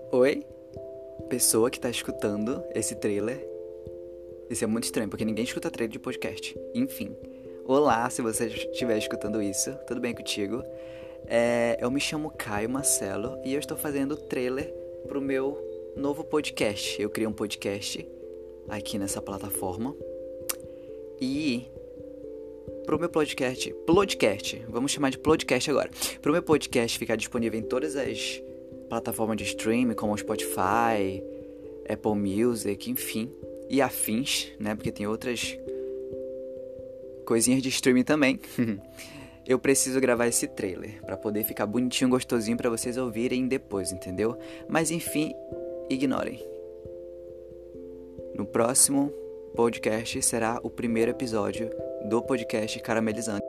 Oi, pessoa que tá escutando esse trailer. Isso é muito estranho, porque ninguém escuta trailer de podcast. Enfim. Olá, se você estiver escutando isso, tudo bem contigo? Eu me chamo Caio Marcelo e eu estou fazendo trailer pro meu novo podcast. Eu criei um podcast aqui nessa plataforma. E pro meu podcast, vamos chamar de podcast agora. Pro meu podcast ficar disponível em todas as plataformas de streaming, como Spotify, Apple Music, enfim, e afins, né? Porque tem outras coisinhas de streaming também. Eu preciso gravar esse trailer pra poder ficar bonitinho, gostosinho pra vocês ouvirem depois, entendeu? Mas enfim, ignorem. No próximo podcast será o primeiro episódio do podcast Caramelizante.